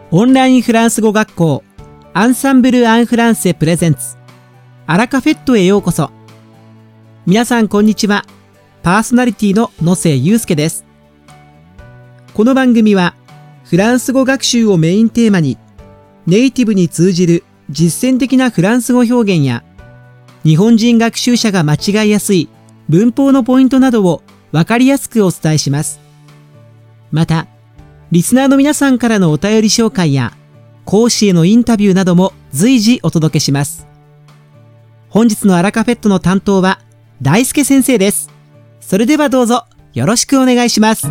オンラインフランス語学校アンサンブル・アン・フランセプレゼンツアラカフェットへようこそ。皆さんこんにちは。パーソナリティの野瀬祐介です。この番組はフランス語学習をメインテーマにネイティブに通じる実践的なフランス語表現や日本人学習者が間違いやすい文法のポイントなどをわかりやすくお伝えします。またリスナーの皆さんからのお便り紹介や講師へのインタビューなども随時お届けします。本日のアラカフェットの担当は大輔先生です。それではどうぞよろしくお願いします。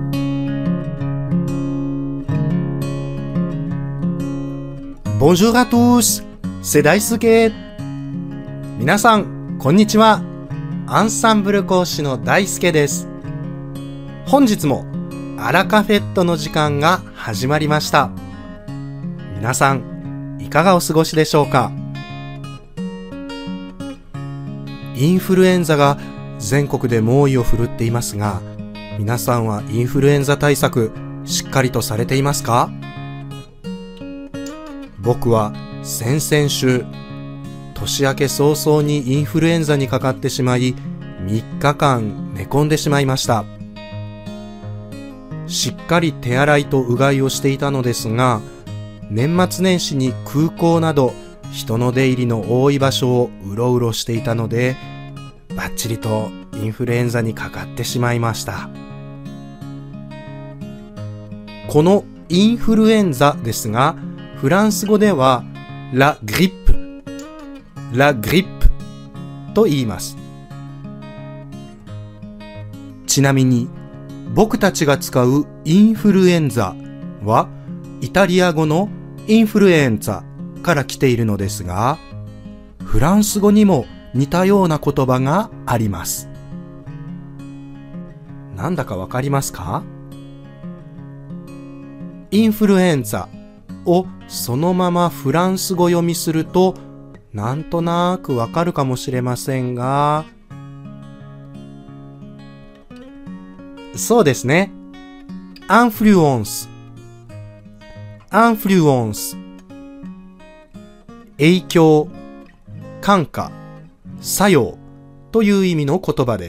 Bonjour à tous, c'est Daisuke。皆さんこんにちは。アンサンブル講師の大輔です。本日もアラカフェットの時間が始まりました。皆さんいかがお過ごしでしょうか。インフルエンザが全国で猛威を振るっていますが、皆さんはインフルエンザ対策しっかりとされていますか？僕は先々週、年明け早々にインフルエンザにかかってしまい、3日間寝込んでしまいました。しっかり手洗いとうがいをしていたのですが、年末年始に空港など人の出入りの多い場所をうろうろしていたので、バッチリとインフルエンザにかかってしまいました。このインフルエンザですが、フランス語ではラグリップと言います。ちなみに僕たちが使うインフルエンザはイタリア語のインフルエンザから来ているのですが、フランス語にも似たような言葉があります。なんだかわかりますか？インフルエンザをそのままフランス語読みするとなんとなくわかるかもしれませんが、そうですね。アンフルエンス。影響、感化、作用という意味の言葉です。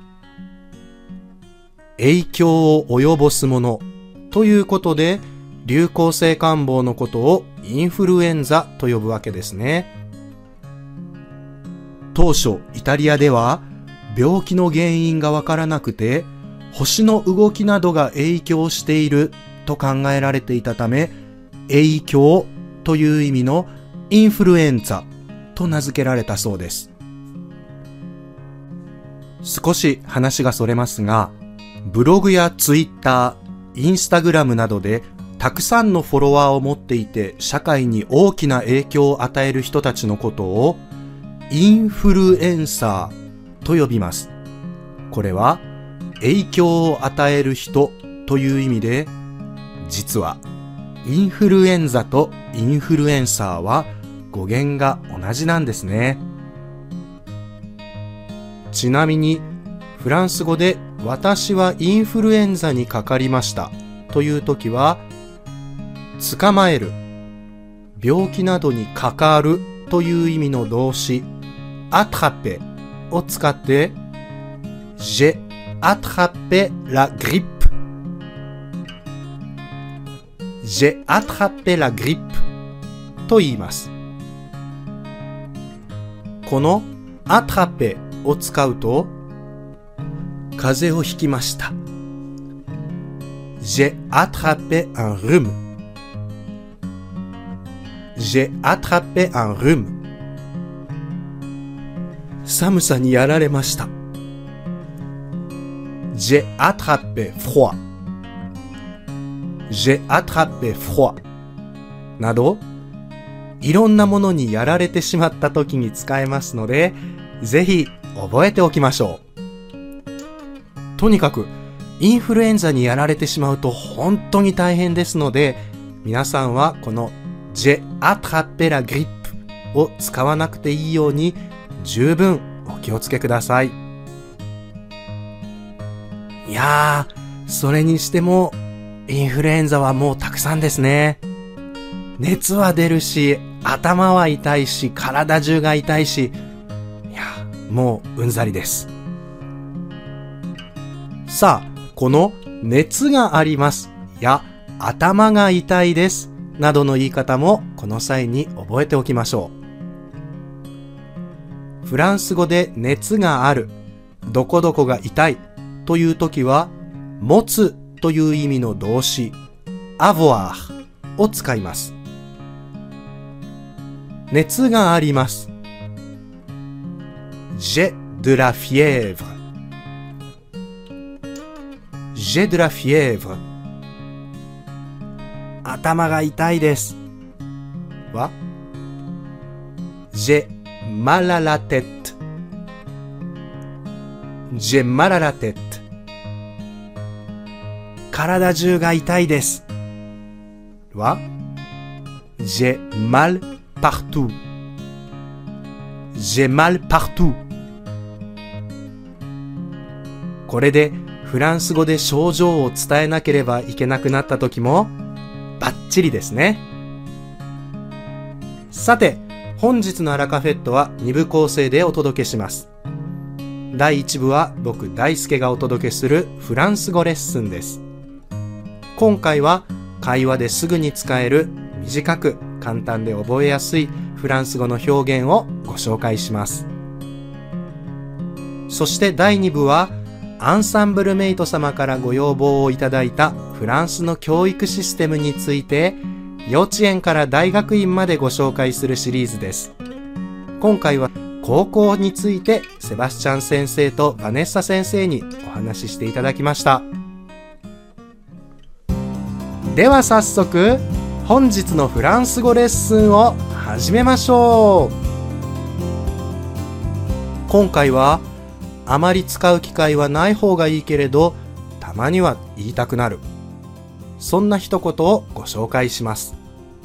影響を及ぼすものということで、流行性感冒のことをインフルエンザと呼ぶわけですね。当初イタリアでは病気の原因がわからなくて、星の動きなどが影響していると考えられていたため、影響という意味のインフルエンザと名付けられたそうです。少し話がそれますが、ブログやツイッター、インスタグラムなどでたくさんのフォロワーを持っていて社会に大きな影響を与える人たちのことをインフルエンサーと呼びます。これは影響を与える人という意味で、実はインフルエンザとインフルエンサーは語源が同じなんですね。ちなみにフランス語で私はインフルエンザにかかりましたというときは、捕まえる、病気などにかかるという意味の動詞アトラペを使って J'ai attrapé la grippe J'ai attrapé la grippe と言います。この attraper を使うと、風邪をひきました。J'ai attrapé un rhume J'ai attrapé un rhume 寒さにやられました。J'ai attrapé froid J'ai attrapé froid など、いろんなものにやられてしまった時に使えますので、ぜひ覚えておきましょう。とにかくインフルエンザにやられてしまうと本当に大変ですので、皆さんはこのJ'ai attrapé la grippe を使わなくていいように十分お気をつけください。いやー、それにしてもインフルエンザはもうたくさんですね。 熱は出るし、頭は痛いし、体中が痛いし、いや、もううんざりです。さあ、この熱がありますや頭が痛いですなどの言い方もこの際に覚えておきましょう。フランス語で熱がある、どこどこが痛いというときは、持つという意味の動詞、avoir を使います。熱があります。J'ai de la fièvre。J'ai de la fièvre。頭が痛いですは J'ai mal à la tête。J'ai mal à la tête。体中が痛いですは J'ai mal partout。J'ai mal partout。これでフランス語で症状を伝えなければいけなくなった時もバッチリですね。さて、本日のアラカフェットは2部構成でお届けします。第1部は僕大輔がお届けするフランス語レッスンです。今回は会話ですぐに使える短く簡単で覚えやすいフランス語の表現をご紹介します。そして第2部はアンサンブルメイト様からご要望をいただいたフランスの教育システムについて幼稚園から大学院までご紹介するシリーズです。今回は高校についてセバスチャン先生とバネッサ先生にお話ししていただきました。では早速本日のフランス語レッスンを始めましょう。今回はあまり使う機会はない方がいいけれど、たまには言いたくなる。そんな一言をご紹介します。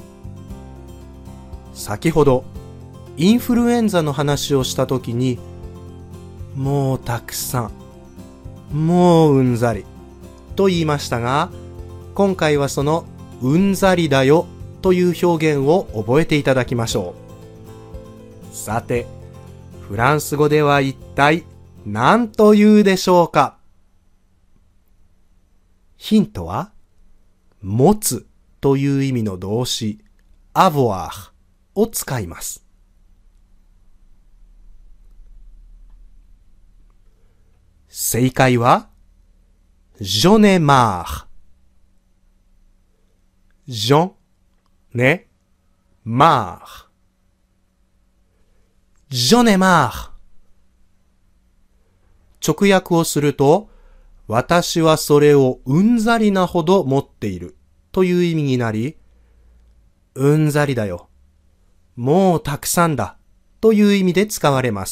先ほど、インフルエンザの話をしたときに、もうたくさん、もううんざりと言いましたが、今回はそのうんざりだよという表現を覚えていただきましょう。さて、フランス語では一体何と言うでしょうか。ヒントは、持つという意味の動詞、avoir を使います。正解は、j'en ai marre。j'en ai marre。j'en ai marre。直訳をすると、私はそれをうんざりなほど持っているという意味になり、うんざりだよ、もうたくさんだという意味で使われます。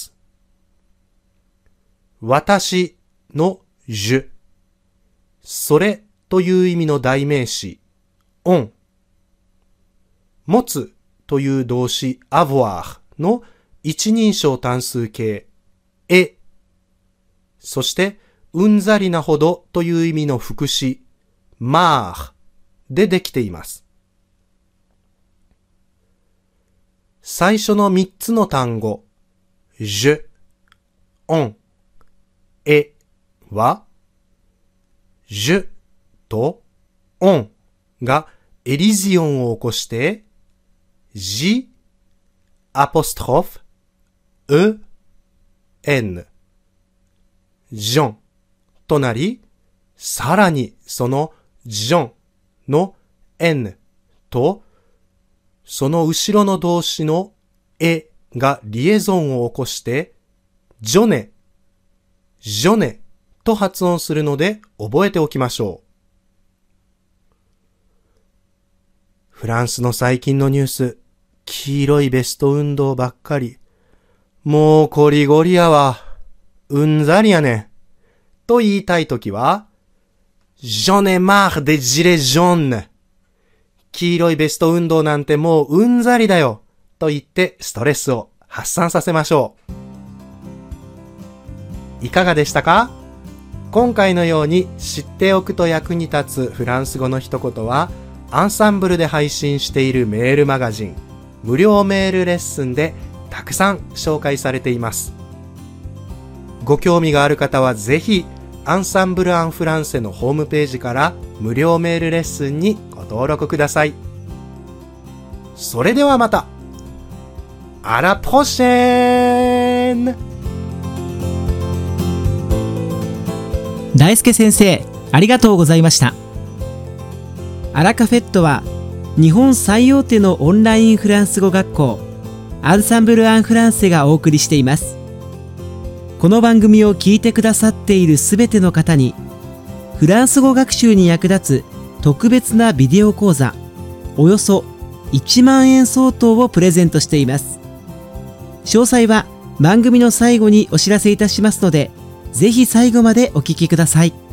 私のje、それという意味の代名詞、on、持つという動詞 avoir の一人称単数形、et、そして、うんざりなほどという意味の副詞、marre でできています。最初の3つの単語、je、on、et は、je と on がエリジオンを起こして、j、apostrophe、e、n、ジョンとなり、さらにそのジョンの n と、その後ろの動詞のえがリエゾンを起こして、ジョネ、ジョネと発音するので覚えておきましょう。フランスの最近のニュース、黄色いベスト運動ばっかり。もうコリゴリやわ。うんざりやね。と言いたいときは、J'en ai marre des gilets jaunes。黄色いベスト運動なんてもううんざりだよ。と言ってストレスを発散させましょう。いかがでしたか？今回のように知っておくと役に立つフランス語の一言は、 アンサンブルで配信しているメールマガジン、無料メールレッスンでたくさん紹介されています。ご興味がある方はぜひ、アンサンブル・アン・フランセのホームページから無料メールレッスンにご登録ください。それではまた。あらポシェーン。 大輔先生、ありがとうございました。アラカフェットは日本最大手のオンラインフランス語学校アンサンブル・アン・フランセがお送りしています。この番組を聞いてくださっているすべての方にフランス語学習に役立つ特別なビデオ講座およそ1万円相当をプレゼントしています。詳細は番組の最後にお知らせいたしますので、ぜひ最後までお聞きください。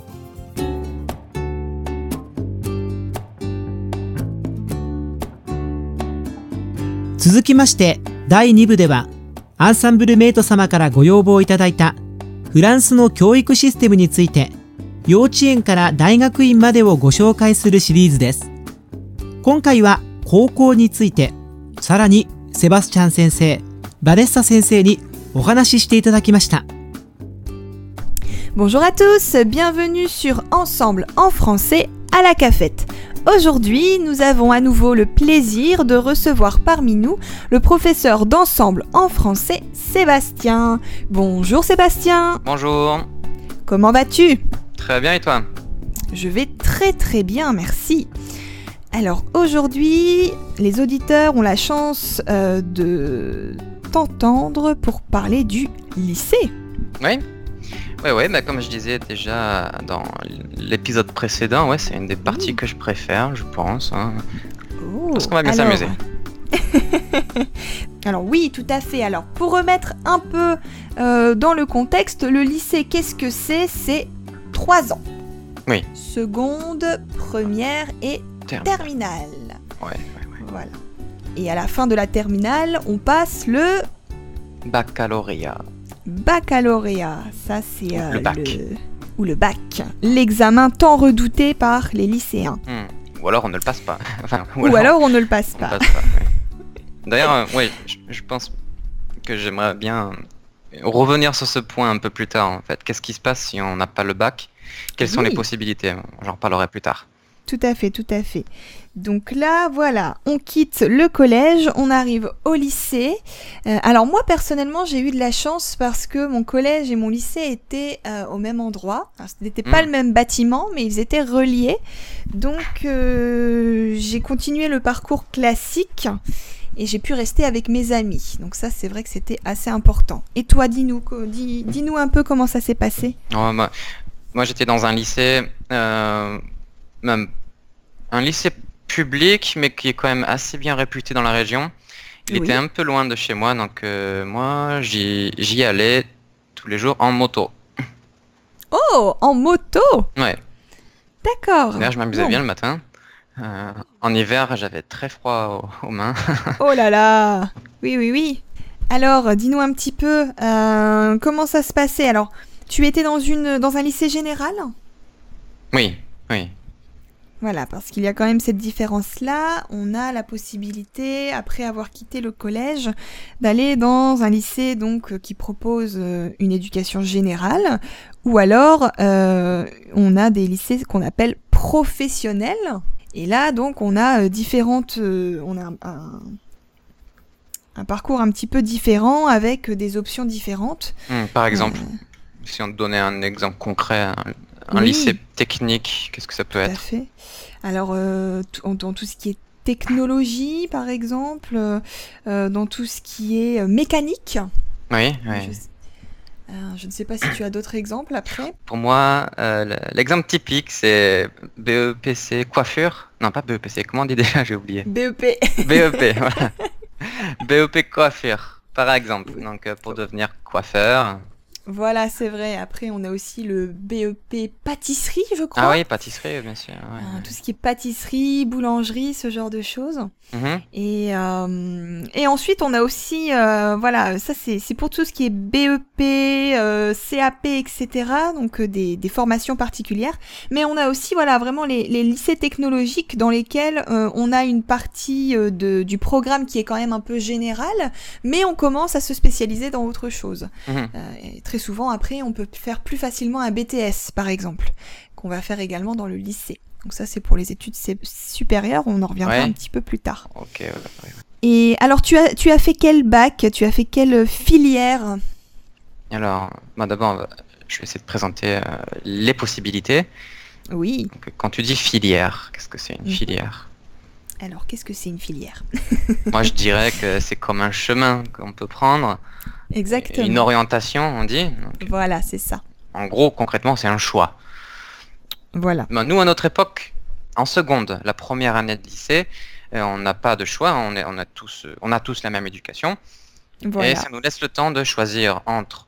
続きまして第2部では、アンサンブルメイト様からご要望いただいたフランスの教育システムについて、幼稚園から大学院までをご紹介するシリーズです。今回は高校について、さらにセバスチャン先生、バネッサ先生にお話ししていただきました。 Bonjour à tous, bienvenue sur Ensemble en français à la cafette. Aujourd'hui, nous avons à nouveau le plaisir de recevoir parmi nous le professeur d'ensemble en français, Sébastien. Bonjour Sébastien. Bonjour. Comment vas-tu? Très bien et toi? Je vais très très bien, merci. Alors aujourd'hui, les auditeurs ont la chance de t'entendre pour parler du lycée. Oui. Ouais, bah comme je disais déjà dans l'épisode précédent, ouais, c'est une des parties que je préfère, je pense. Hein. Oh, parce qu'on va bien s'amuser. Alors oui, tout à fait. Alors pour remettre un peu dans le contexte, le lycée, qu'est-ce que c'est? C'est 3 ans. Oui. Seconde, première et terminale. Ouais. Voilà. Et à la fin de la terminale, on passe le baccalauréat. Baccalauréat, ça c'est le bac. Ou le bac, l'examen tant redouté par les lycéens. Ou alors on ne le passe pas. Enfin, ou alors on ne le passe pas. D'ailleurs, ouais, je pense que j'aimerais bien revenir sur ce point un peu plus tard en fait. Qu'est-ce qui se passe si on n'a pas le bac? Quelles sont les possibilités? J'en reparlerai plus tard. Tout à fait, tout à fait. Donc là, voilà, on quitte le collège, on arrive au lycée. Alors moi, personnellement, j'ai eu de la chance parce que mon collège et mon lycée étaient au même endroit. Alors, ce n'était pas le même bâtiment, mais ils étaient reliés. Donc j'ai continué le parcours classique et j'ai pu rester avec mes amis. Donc ça, c'est vrai que c'était assez important. Et toi, dis-nous un peu comment ça s'est passé. Moi, j'étais dans un lycée... même un lycée public, mais qui est quand même assez bien réputé dans la région. Il était un peu loin de chez moi, donc moi, j'y allais tous les jours en moto. Oh, en moto? Ouais. D'accord. D'ailleurs, je m'amusais bien le matin. En hiver, j'avais très froid aux mains. Oh là là. Oui. Alors, dis-nous un petit peu, comment ça se passait? Alors, tu étais dans un lycée général? Oui. Voilà, parce qu'il y a quand même cette différence-là. On a la possibilité, après avoir quitté le collège, d'aller dans un lycée donc qui propose une éducation générale, ou alors on a des lycées qu'on appelle professionnels. Et là, donc, on a on a un parcours un petit peu différent avec des options différentes. Par exemple, si on te donnait un exemple concret. Un lycée technique, qu'est-ce que ça peut être? Tout à fait. Alors, dans tout ce qui est technologie, par exemple, dans tout ce qui est mécanique. Oui. Je ne sais pas si tu as d'autres exemples après. Pour moi, l'exemple typique, c'est BEPC coiffure. Non, pas BEPC, comment on dit déjà? J'ai oublié. BEP. BEP, voilà. BEP coiffure, par exemple. Donc, pour devenir coiffeur, Voilà, c'est vrai. Après, on a aussi le BEP pâtisserie, je crois. Ah oui, pâtisserie, bien sûr. Ouais. Tout ce qui est pâtisserie, boulangerie, ce genre de choses. Mhm. Et ensuite, on a aussi, voilà, ça c'est pour tout ce qui est BEP, CAP, etc. Donc des formations particulières. Mais on a aussi, voilà, vraiment les lycées technologiques dans lesquels on a une partie du programme qui est quand même un peu générale, mais on commence à se spécialiser dans autre chose. Mhm. Et très souvent, après, on peut faire plus facilement un BTS, par exemple, qu'on va faire également dans le lycée. Donc ça, c'est pour les études supérieures, on en reviendra Ouais. un petit peu plus tard. Ok, ouais. Et alors, tu as fait quel bac? Tu as fait quelle filière? Alors, d'abord, je vais essayer de présenter les possibilités. Oui. Donc, quand tu dis filière, qu'est-ce que c'est une Mhm. filière? Alors, qu'est-ce que c'est une filière? Moi, je dirais que c'est comme un chemin qu'on peut prendre, Exactement. une orientation, on dit. Donc, Voilà, c'est ça. en gros, concrètement, c'est un choix. Voilà. Nous, à notre époque, en seconde, la première année de lycée, on n'a pas de choix, on a tous la même éducation. Voilà. Et ça nous laisse le temps de choisir entre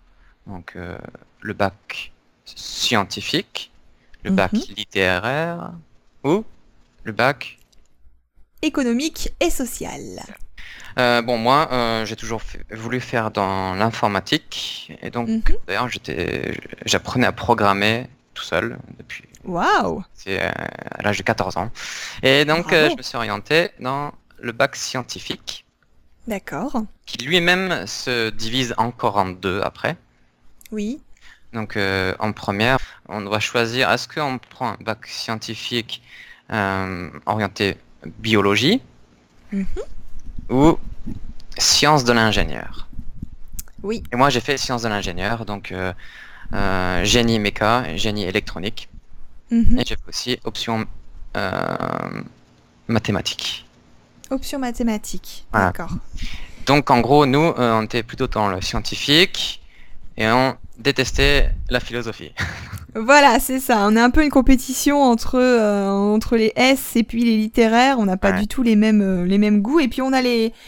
le bac scientifique, le bac littéraire ou le bac... Économique et sociale. Moi, j'ai toujours voulu faire dans l'informatique. Et donc, Mhm. d'ailleurs, j'apprenais à programmer tout seul depuis Waouh! à l'âge de 14 ans. Et donc, Bravo. je me suis orienté dans le bac scientifique, D'accord. qui lui-même se divise encore en deux après. Oui. Donc, en première, on doit choisir, est-ce qu'on prend un bac scientifique orienté biologie Mhm. ou sciences de l'ingénieur? Oui. Et moi, j'ai fait sciences de l'ingénieur, donc génie méca, génie électronique. Mhm. Et j'ai fait aussi option mathématiques. Option mathématiques. Voilà. D'accord. Donc, en gros, nous, on était plutôt dans le scientifique et on détestait la philosophie. Voilà, c'est ça. On a un peu une compétition entre les S et puis les littéraires. On n'a pas Ouais. du tout les mêmes goûts. Et puis on a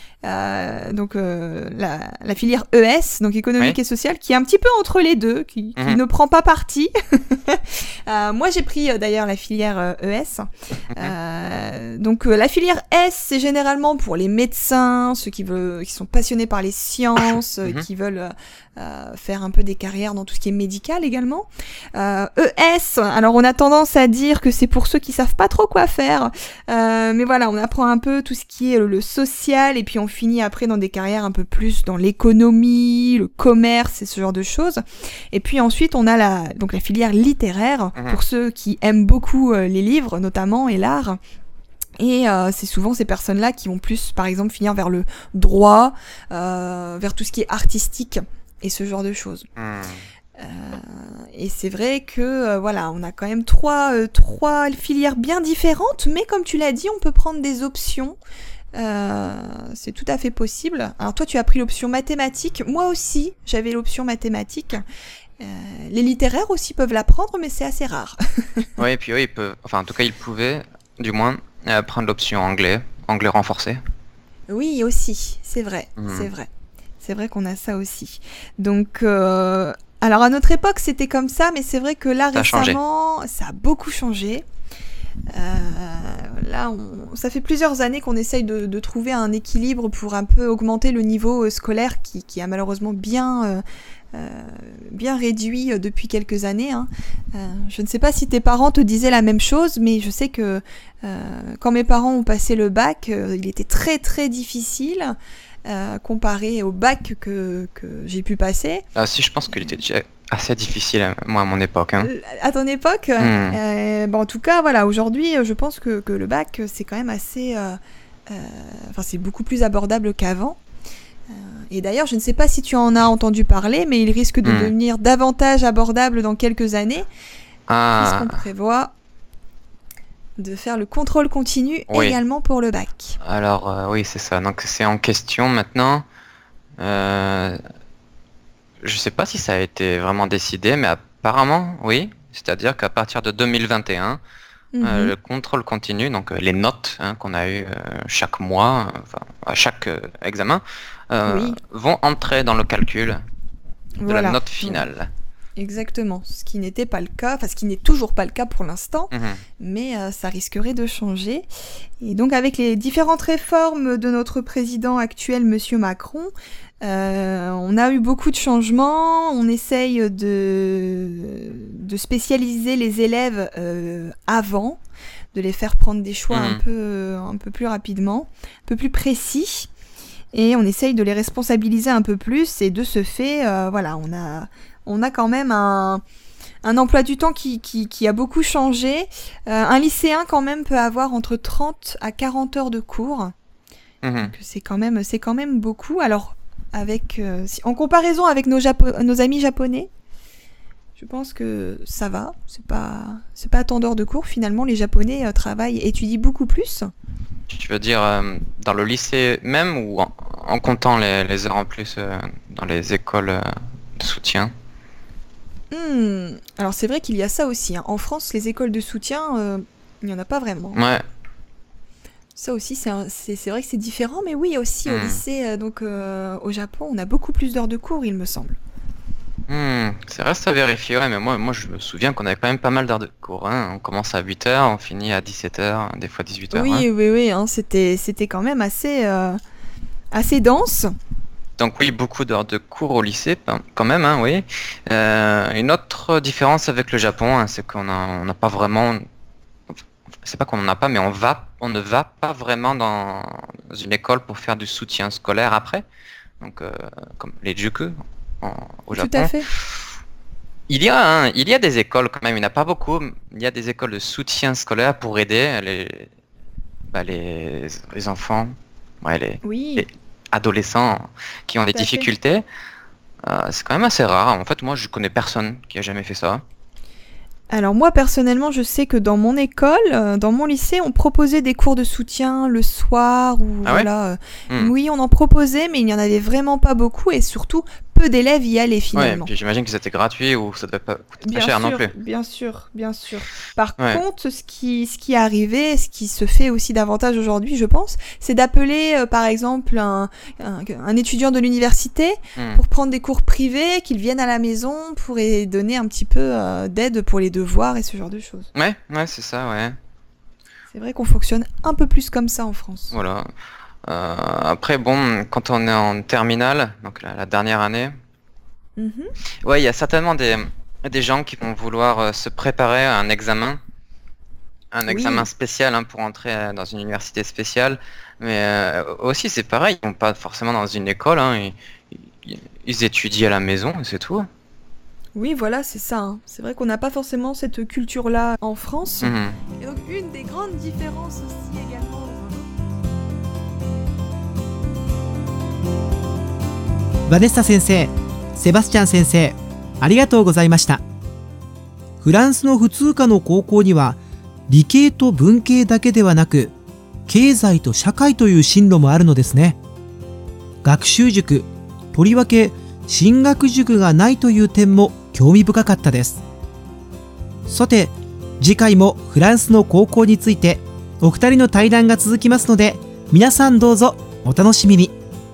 la filière ES, donc économique Oui. et sociale, qui est un petit peu entre les deux, qui Mhm. ne prend pas parti. Moi, j'ai pris d'ailleurs la filière ES. Donc la filière S, c'est généralement pour les médecins, ceux qui sont passionnés par les sciences, Mhm. qui veulent faire un peu des carrières dans tout ce qui est médical également. ES, alors on a tendance à dire que c'est pour ceux qui savent pas trop quoi faire, mais voilà, on apprend un peu tout ce qui est le social, et puis on finit après dans des carrières un peu plus dans l'économie, le commerce et ce genre de choses. Et puis ensuite on a la filière littéraire, Mhm. pour ceux qui aiment beaucoup les livres notamment et l'art. Et c'est souvent ces personnes-là qui vont plus, par exemple, finir vers le droit, vers tout ce qui est artistique et ce genre de choses. Et c'est vrai que voilà, on a quand même trois filières bien différentes, mais comme tu l'as dit, on peut prendre des options. C'est tout à fait possible. Alors toi, tu as pris l'option mathématiques. Moi aussi, j'avais l'option mathématiques. Les littéraires aussi peuvent la prendre, mais c'est assez rare. Oui, et puis eux, ils peuvent, enfin, en tout cas, ils pouvaient, du moins, prendre l'option anglais renforcé. Oui, aussi, c'est vrai, Mhm. c'est vrai. C'est vrai qu'on a ça aussi. Donc, alors à notre époque, c'était comme ça, mais c'est vrai que là, Ça a changé. récemment, ça a beaucoup changé. Là, ça fait plusieurs années qu'on essaye de trouver un équilibre pour un peu augmenter le niveau scolaire qui a malheureusement bien réduit depuis quelques années. Hein. Je ne sais pas si tes parents te disaient la même chose, mais je sais que quand mes parents ont passé le bac, il était très très difficile comparé au bac que j'ai pu passer. Si, je pense qu'il était déjà assez difficile, moi, à mon époque. Hein. À ton époque, en tout cas, voilà, aujourd'hui, je pense que le bac, c'est quand même assez... c'est beaucoup plus abordable qu'avant. Et d'ailleurs, je ne sais pas si tu en as entendu parler, mais il risque de devenir davantage abordable dans quelques années, puisqu'on prévoit de faire le contrôle continu également pour le bac. Alors, oui, c'est ça. Donc, c'est en question maintenant. Je sais pas si ça a été vraiment décidé, mais apparemment, oui. C'est-à-dire qu'à partir de 2021, le contrôle continu, donc les notes qu'on a eues chaque mois, à chaque examen, vont entrer dans le calcul de la note finale. Exactement, ce qui n'était pas le cas, enfin ce qui n'est toujours pas le cas pour l'instant, mais ça risquerait de changer. Et donc avec les différentes réformes de notre président actuel, Monsieur Macron, on a eu beaucoup de changements. On essaye de spécialiser les élèves avant, de les faire prendre des choix un peu plus rapidement, un peu plus précis. Et on essaye de les responsabiliser un peu plus. Et de ce fait, voilà, on a quand même un emploi du temps qui a beaucoup changé. Un lycéen quand même peut avoir entre 30 à 40 heures de cours. Donc c'est quand même beaucoup. Alors en comparaison avec nos amis japonais, je pense que ça va. C'est pas tant d'heures de cours. Finalement, les Japonais étudient beaucoup plus. Tu veux dire dans le lycée même ou en comptant les heures en plus dans les écoles de soutien? Alors c'est vrai qu'il y a ça aussi. En France, les écoles de soutien, il n'y en a pas vraiment. Ouais. Ça aussi, c'est vrai que c'est différent, mais oui, aussi au lycée, au Japon, on a beaucoup plus d'heures de cours, il me semble. Ça reste à vérifier, ouais, mais moi je me souviens qu'on avait quand même pas mal d'heures de cours. Hein. On commence à 8h, on finit à 17h, des fois 18h. Oui, hein, c'était quand même assez dense. Donc oui, beaucoup d'heures de cours au lycée, quand même, hein, oui. Une autre différence avec le Japon, hein, c'est qu'on n'a pas vraiment... C'est pas qu'on n'en a pas, mais on ne va pas vraiment dans une école pour faire du soutien scolaire après. Donc, comme les juku au Japon. Tout à fait. Il y a des écoles quand même, il n'y en a pas beaucoup. Il y a des écoles de soutien scolaire pour aider les enfants, les adolescents qui ont des difficultés. C'est quand même assez rare. En fait, moi, je connais personne qui a jamais fait ça. Alors moi, personnellement, je sais que dans mon école, dans mon lycée, on proposait des cours de soutien le soir. Oui, on en proposait, mais il n'y en avait vraiment pas beaucoup et surtout, peu d'élèves y allaient finalement. Ouais, puis j'imagine que c'était gratuit ou ça devait pas coûter très cher non plus. Bien sûr. Par contre, ce qui est arrivé, ce qui se fait aussi davantage aujourd'hui, je pense, c'est d'appeler par exemple un étudiant de l'université pour prendre des cours privés, qu'il vienne à la maison pour donner un petit peu d'aide pour les devoirs et ce genre de choses. Ouais, c'est ça, ouais. C'est vrai qu'on fonctionne un peu plus comme ça en France. Voilà. Après, bon, quand on est en terminale, donc la dernière année, ouais, il y a certainement des gens qui vont vouloir se préparer à un examen spécial pour entrer dans une université spéciale. Mais aussi, c'est pareil, ils vont pas forcément dans une école, ils étudient à la maison et c'est tout. Oui, voilà, c'est ça. Hein. C'est vrai qu'on n'a pas forcément cette culture-là en France. Et donc, une des grandes différences aussi également. Vanessa 先生、セバスチャン先生、ありがとうございました。フランスの普通科の高校には理系と文系だけではなく経済と社会という進路もあるのですね。学習塾、とりわけ進学塾がないという点も興味深かったです。さて、次回もフランスの高校についてお二人の対談が続きますので、皆さんどうぞお楽しみに。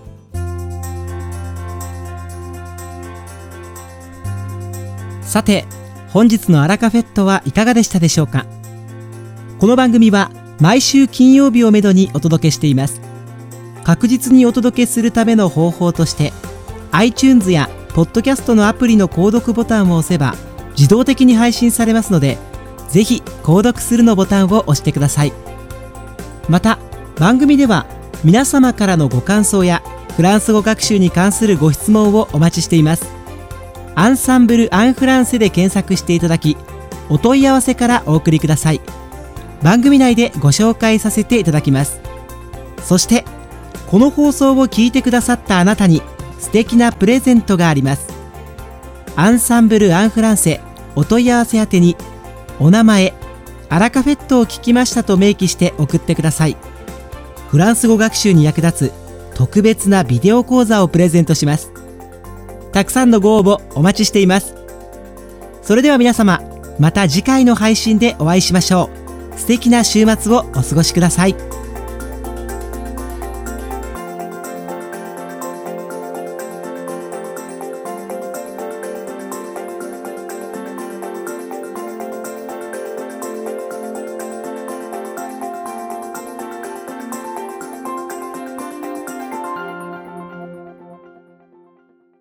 さて、本日のアラカフェットはいかがでしたでしょうか。この番組は毎週金曜日をめどにお届けしています。確実にお届けするための方法として iTunes やポッドキャストのアプリの購読ボタンを押せば自動的に配信されますので、ぜひ購読するのボタンを押してください。また番組では皆様からのご感想やフランス語学習に関するご質問をお待ちしています。アンサンブル・アン・フランセで検索していただき、お問い合わせからお送りください。番組内でご紹介させていただきます。そしてこの放送を聞いてくださったあなたに素敵なプレゼントがあります。アンサンブル・アン・フランセお問い合わせ宛てにお名前、アラカフェットを聞きましたと明記して送ってください。フランス語学習に役立つ特別なビデオ講座をプレゼントします。たくさんのご応募お待ちしています。それでは皆様、また次回の配信でお会いしましょう。素敵な週末をお過ごしください。